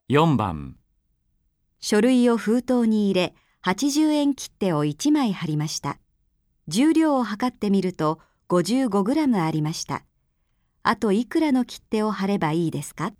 4番、 書類を封筒に入れ、80円切手を1枚貼りました。重量を測ってみると55グラムありました。あといくらの切手を貼ればいいですか？